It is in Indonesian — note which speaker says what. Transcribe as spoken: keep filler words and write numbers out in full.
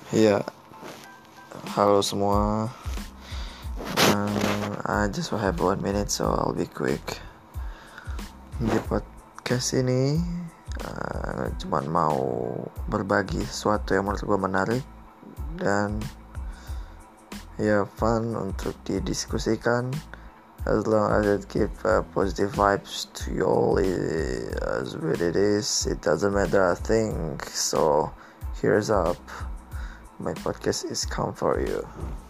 Speaker 1: Iya, halo semua. Um, I just will have one minute, so I'll be quick. Di podcast ini, uh, cuman mau berbagi sesuatu yang menurut gue menarik dan ya fun untuk didiskusikan. As long as it give uh, positive vibes to you all, it, as what it is, it doesn't matter I think. So here's up. My podcast is come for you.